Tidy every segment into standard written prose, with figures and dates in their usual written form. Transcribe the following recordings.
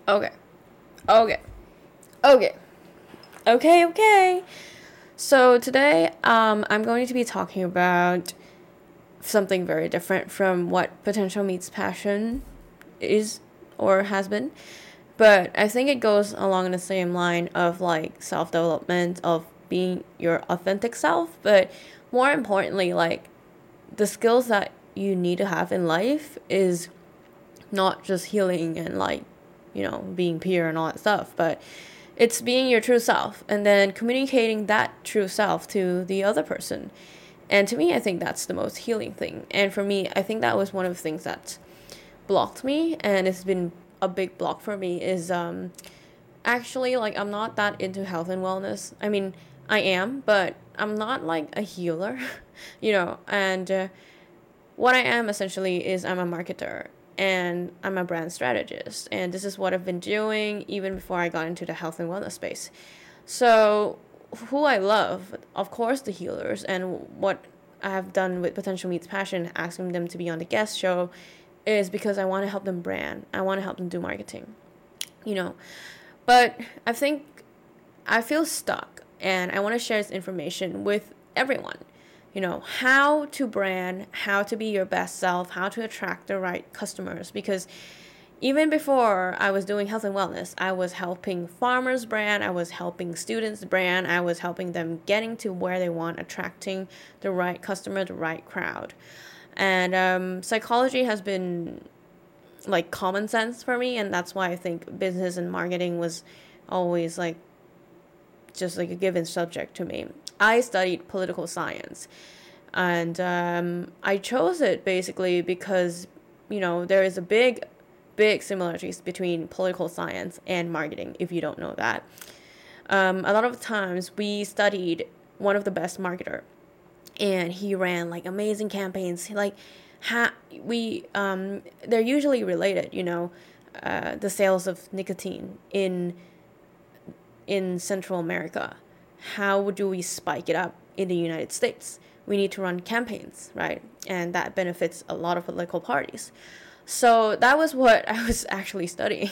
Okay. Okay. Okay. Okay. So today, I'm going to be talking about something very different from what potential meets passion is or has been. But I think it goes along the same line of like self development, of being your authentic self, but more importantly, like the skills that you need to have in life is not just healing and like, being pure and all that stuff, but it's being your true self and then communicating that true self to the other person. And to me, I think that's the most healing thing. And for me, I think that was one of the things that blocked me, and it's been a big block for me is actually like I'm not that into health and wellness. I mean, I am, but I'm not like a healer, and what I am essentially is I'm a marketer and I'm a brand strategist. And this is what I've been doing even before I got into the health and wellness space. So, who I love, of course, the healers, and what I have done with Potential Meets Passion, asking them to be on the guest show, is because I want to help them brand. I want to help them do marketing, you know. But I think I feel stuck and I want to share this information with everyone. How to brand, how to be your best self, how to attract the right customers. Because even before I was doing health and wellness, I was helping farmers brand, I was helping students brand, I was helping them getting to where they want, attracting the right customer, the right crowd. And psychology has been like common sense for me, and that's why I think business and marketing was always like just like a given subject to me. I studied political science, and I chose it basically because there is a big similarities between political science and marketing. If you don't know that, a lot of times we studied one of the best marketer, and he ran like amazing campaigns. Like, they're usually related. The sales of nicotine in Central America. How do we spike it up in the United States? We need to run campaigns, right? And that benefits a lot of political parties. So that was what I was actually studying.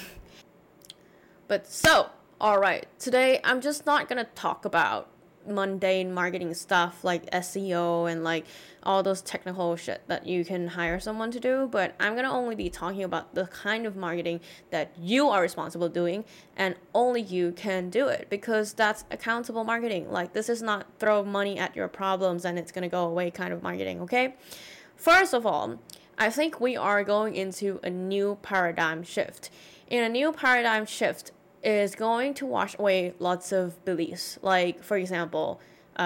All right, today I'm just not gonna talk about mundane marketing stuff like SEO and like all those technical shit that you can hire someone to do, but I'm gonna only be talking about the kind of marketing that you are responsible doing, and only you can do it, because that's accountable marketing. Like, this is not throw money at your problems and it's gonna go away kind of marketing, okay? First of all, I think we are going into a new paradigm shift. In a new paradigm shift, is going to wash away lots of beliefs. Like, for example,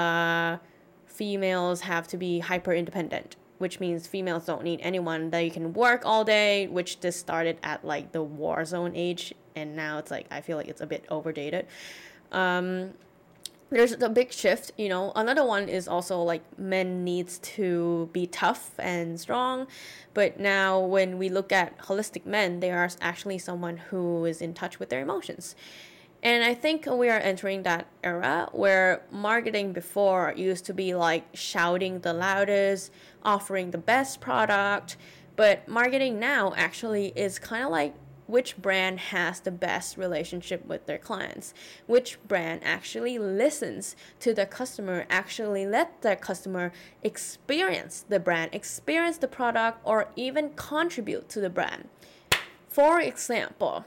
females have to be hyper independent, which means females don't need anyone. They can work all day, which this started at like the war zone age, and now it's like, I feel like it's a bit overdated. There's a big shift. Another one is also like men needs to be tough and strong, but now when we look at holistic men, they are actually someone who is in touch with their emotions. And I think we are entering that era where marketing before used to be like shouting the loudest, offering the best product, but marketing now actually is kind of like which brand has the best relationship with their clients, which brand actually listens to the customer, actually let the customer experience the brand, experience the product, or even contribute to the brand. For example,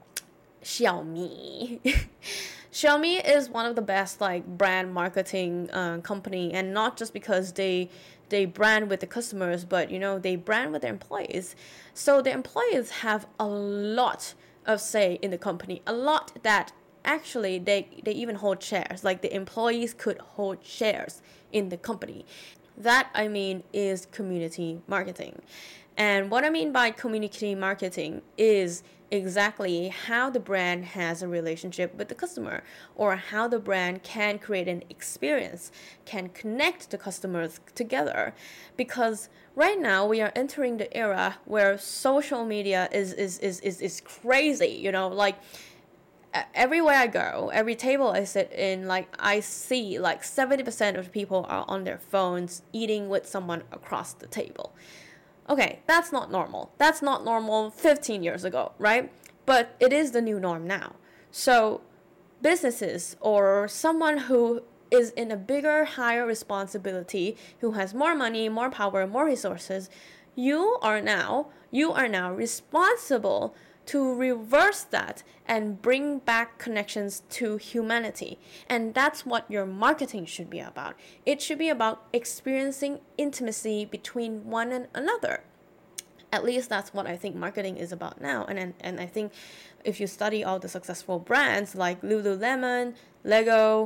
Xiaomi. Xiaomi is one of the best like brand marketing company, and not just because they brand with the customers, but they brand with their employees. So the employees have a lot of say in the company, a lot that actually they even hold shares. Like, the employees could hold shares in the company. That, I mean, is community marketing. And what I mean by community marketing is exactly how the brand has a relationship with the customer, or how the brand can create an experience, can connect the customers together. Because right now we are entering the era where social media is crazy, like everywhere I go, every table I sit in, like I see like 70% of people are on their phones eating with someone across the table. Okay, that's not normal. That's not normal 15 years ago, right? but it is the new norm now. So businesses or someone who is in a bigger, higher responsibility, who has more money, more power, more resources, you are now responsible to reverse that and bring back connections to humanity. And that's what your marketing should be about. It should be about experiencing intimacy between one and another. At least that's what I think marketing is about now. And I think if you study all the successful brands like Lululemon, Lego,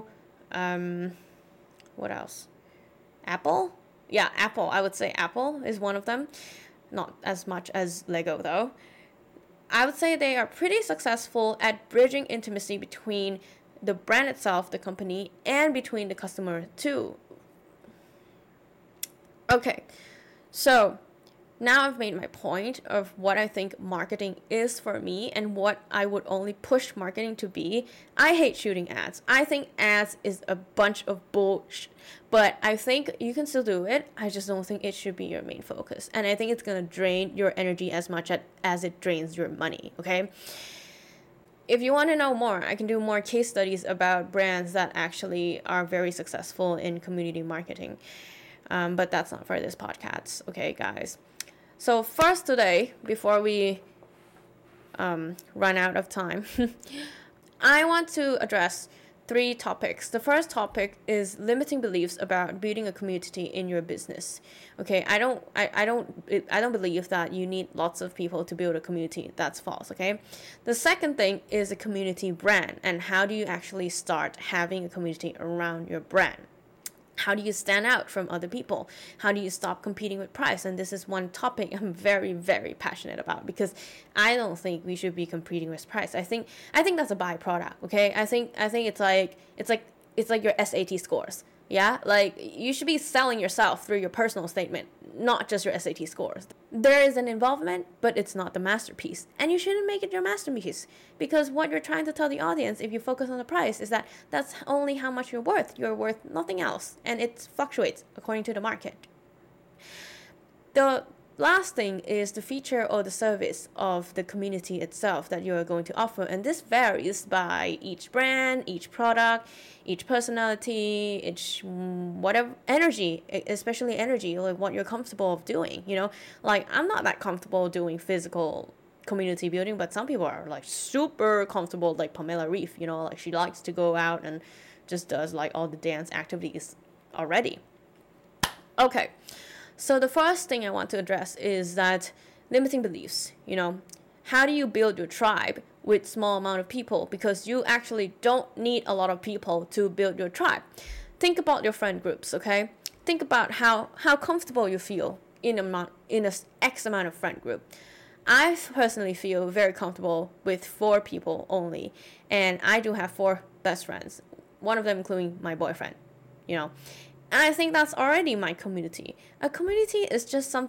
what else? Apple? Yeah, Apple. I would say Apple is one of them. Not as much as Lego though. I would say they are pretty successful at bridging intimacy between the brand itself, the company, and between the customer too. Okay, so now I've made my point of what I think marketing is for me and what I would only push marketing to be. I hate shooting ads. I think ads is a bunch of bullshit. But I think you can still do it. I just don't think it should be your main focus. And I think it's going to drain your energy as much as it drains your money, okay? If you want to know more, I can do more case studies about brands that actually are very successful in community marketing. But that's not for this podcast, okay, guys? So first today, before we run out of time, I want to address 3 topics. The first topic is limiting beliefs about building a community in your business. Okay, I don't believe that you need lots of people to build a community. That's false, okay? The second thing is a community brand, and how do you actually start having a community around your brand? How do you stand out from other people? How do you stop competing with price? And this is one topic I'm very, very passionate about, because I don't think we should be competing with price. I think that's a byproduct. Okay, I think it's like your SAT scores. Yeah, like you should be selling yourself through your personal statement, not just your SAT scores. There is an involvement, but it's not the masterpiece. And you shouldn't make it your masterpiece, because what you're trying to tell the audience, if you focus on the price, is that that's only how much you're worth. You're worth nothing else, and it fluctuates according to the market. The last thing is the feature or the service of the community itself that you are going to offer, and this varies by each brand, each product, each personality, each whatever energy, especially energy, like what you're comfortable of doing. Like I'm not that comfortable doing physical community building, but some people are like super comfortable, like Pamela Reif. Like she likes to go out and just does like all the dance activities already. Okay. So the first thing I want to address is that limiting beliefs. How do you build your tribe with small amount of people? Because you actually don't need a lot of people to build your tribe. Think about your friend groups, okay? Think about how comfortable you feel in a X amount of friend group. I personally feel very comfortable with 4 people only, and I do have 4 best friends. One of them including my boyfriend. And I think that's already my community. A community is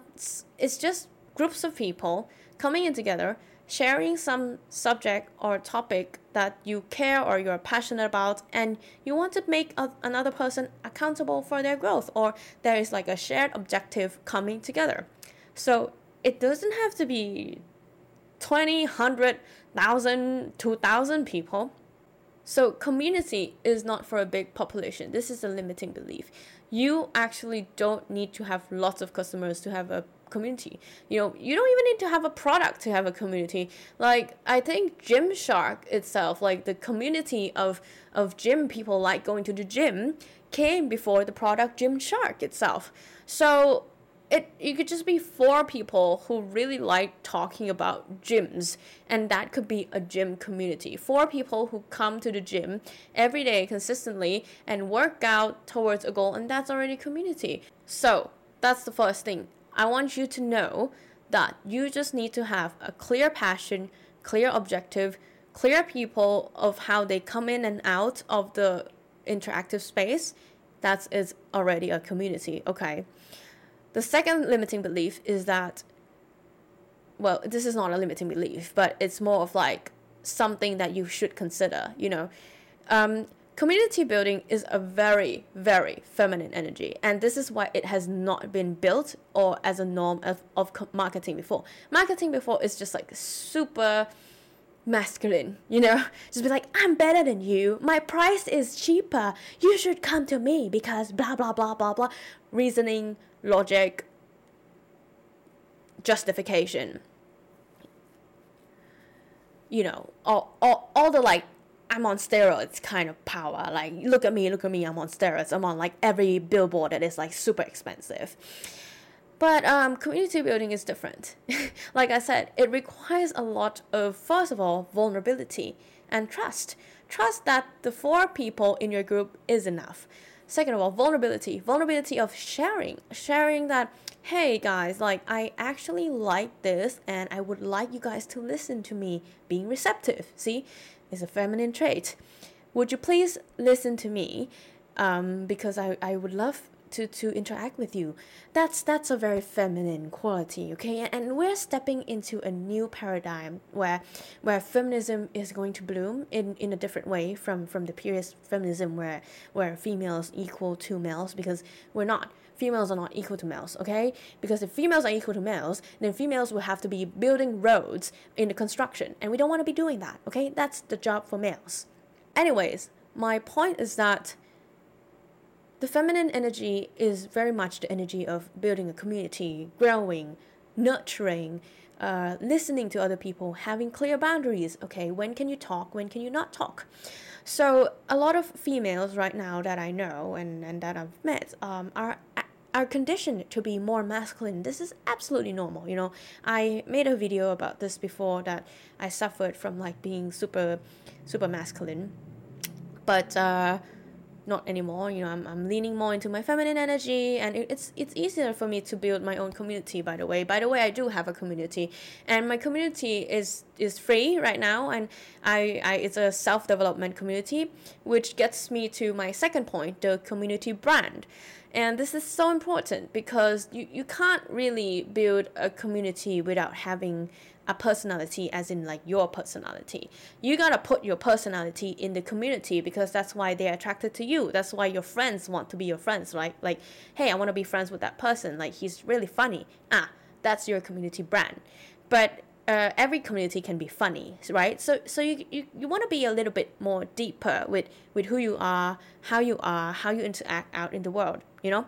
just groups of people coming in together, sharing some subject or topic that you care or you're passionate about, and you want to make another person accountable for their growth, or there is like a shared objective coming together. So it doesn't have to be 20, 100, 1,000, 2,000 people. So community is not for a big population. This is a limiting belief. You actually don't need to have lots of customers to have a community. You don't even need to have a product to have a community. Like I think Gymshark itself, like the community of gym people like going to the gym, came before the product Gymshark itself. So you could just be 4 people who really like talking about gyms, and that could be a gym community. 4 people who come to the gym every day consistently and work out towards a goal, and that's already community. So that's the first thing. I want you to know that you just need to have a clear passion, clear objective, clear people of how they come in and out of the interactive space. That is already a community, okay? The second limiting belief is that, well, this is not a limiting belief, but it's more of like something that you should consider, Community building is a very, very feminine energy, and this is why it has not been built or as a norm of marketing before. Marketing before is just like super masculine, just be like, I'm better than you, my price is cheaper, you should come to me because blah blah blah blah blah, reasoning, logic, justification, all the like, I'm on steroids kind of power, like look at me, I'm on steroids, I'm on like every billboard that is like super expensive. But community building is different. Like I said, it requires a lot of, first of all, vulnerability and trust. Trust that the 4 people in your group is enough. Second of all, vulnerability of sharing that, hey guys, like I actually like this and I would like you guys to listen to me, being receptive. See, it's a feminine trait. Would you please listen to me? Because I would love to interact with you. That's a very feminine quality, okay? And we're stepping into a new paradigm where feminism is going to bloom in a different way from the previous feminism where females equal to males, because we're not. Females are not equal to males, okay? Because if females are equal to males, then females will have to be building roads in the construction, and we don't want to be doing that, okay? That's the job for males. Anyways, my point is that the feminine energy is very much the energy of building a community, growing, nurturing, listening to other people, having clear boundaries. Okay, when can you talk? When can you not talk? So a lot of females right now that I know and that I've met are conditioned to be more masculine. This is absolutely normal. I made a video about this before, that I suffered from like being super masculine, but not anymore. I'm leaning more into my feminine energy, and it's easier for me to build my own community. By the way, I do have a community, and my community is free right now, and I it's a self-development community, which gets me to my second point, the community brand. And this is so important because you can't really build a community without having a personality, as in like your personality. You gotta put your personality in the community, because that's why they're attracted to you. That's why your friends want to be your friends, right? Like, hey, I want to be friends with that person. Like, he's really funny. That's your community brand. But every community can be funny, right? So you want to be a little bit more deeper with who you are, how you interact out in the world,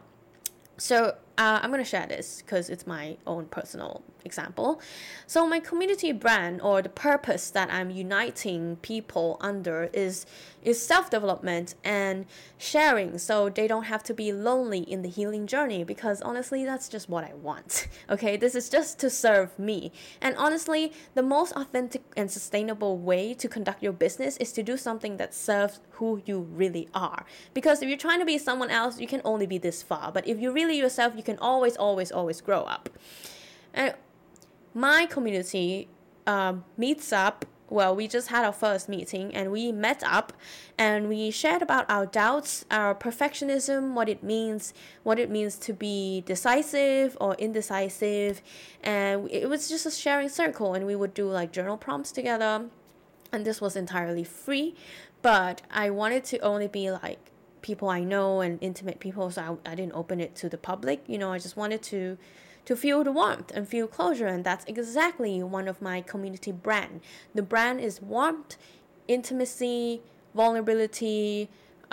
So I'm going to share this because it's my own personal example. So my community brand, or the purpose that I'm uniting people under, is self-development and sharing, so they don't have to be lonely in the healing journey, because honestly, that's just what I want. Okay, this is just to serve me. And honestly, the most authentic and sustainable way to conduct your business is to do something that serves who you really are. Because if you're trying to be someone else, you can only be this far. But if you're really yourself, you can always grow up. And my community meets up. Well, we just had our first meeting, and we met up and we shared about our doubts, our perfectionism, what it means to be decisive or indecisive. And it was just a sharing circle, and we would do like journal prompts together. And this was entirely free, but I wanted to only be like people I know and intimate people, so I didn't open it to the public. I just wanted to feel the warmth and feel closure, and that's exactly one of my community brand. The brand is warmth, intimacy, vulnerability,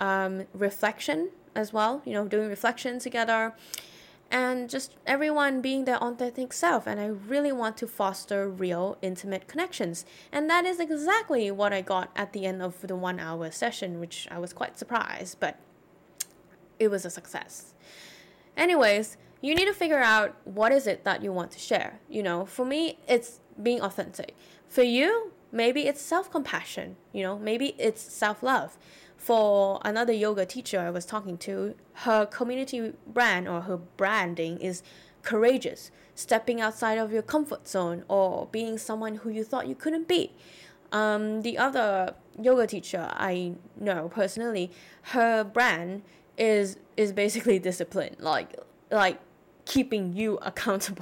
reflection as well, doing reflection together, and just everyone being their authentic self. And I really want to foster real, intimate connections, and that is exactly what I got at the end of the 1 hour session, which I was quite surprised, but it was a success. Anyways, you need to figure out what is it that you want to share. For me, it's being authentic. For you, maybe it's self-compassion, maybe it's self-love. For another yoga teacher I was talking to, her community brand, or her branding, is courageous, stepping outside of your comfort zone, or being someone who you thought you couldn't be. The other yoga teacher I know personally, her brand is basically discipline, like keeping you accountable.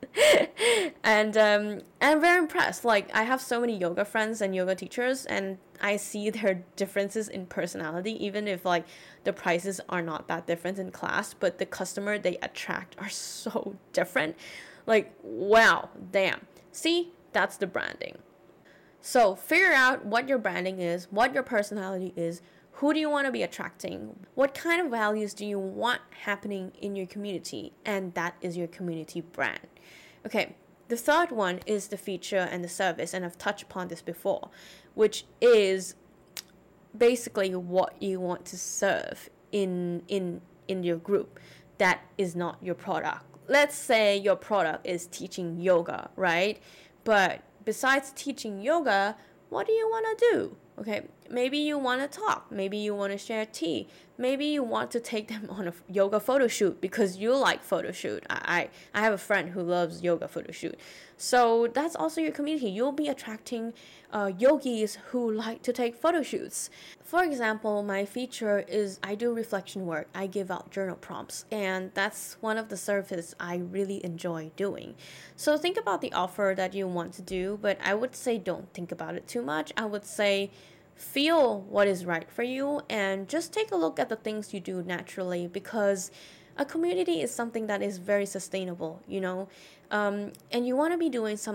And I'm very impressed. Like, I have so many yoga friends and yoga teachers, and I see their differences in personality, even if like the prices are not that different in class, but the customer they attract are so different. Like, wow, damn. See, that's the branding. So figure out what your branding is, what your personality is, who do you want to be attracting, what kind of values do you want happening in your community, and that is your community brand. Okay, the third one is the feature and the service, and I've touched upon this before, which is basically what you want to serve in your group that is not your product. Let's say your product is teaching yoga, right? But besides teaching yoga, what do you want to do? Okay, maybe you want to talk, maybe you want to share tea, maybe you want to take them on a yoga photo shoot because you like photo shoot. I have a friend who loves yoga photo shoot. So that's also your community. You'll be attracting yogis who like to take photo shoots. For example, my feature is I do reflection work. I give out journal prompts, and that's one of the services I really enjoy doing. So think about the offer that you want to do, but I would say don't think about it too much. I would say feel what is right for you and just take a look at the things you do naturally, because a community is something that is very sustainable, and you want to be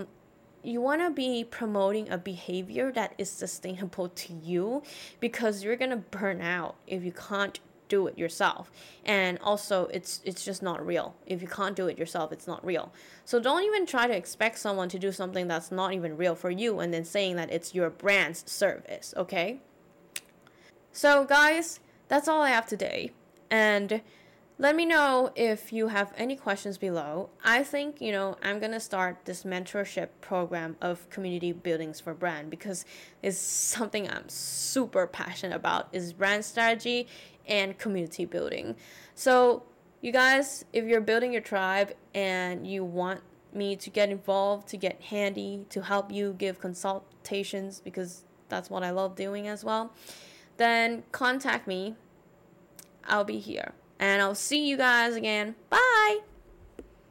promoting a behavior that is sustainable to you, because you're gonna burn out if you can't do it yourself. And also it's just not real. If you can't do it yourself, it's not real. So don't even try to expect someone to do something that's not even real for you and then saying that it's your brand's service, okay? So guys, that's all I have today. And let me know if you have any questions below. I think, I'm going to start this mentorship program of community buildings for brand, because it's something I'm super passionate about, is brand strategy and community building. So you guys, if you're building your tribe and you want me to get involved, to get handy, to help you give consultations, because that's what I love doing as well, then contact me. I'll be here. And I'll see you guys again. Bye!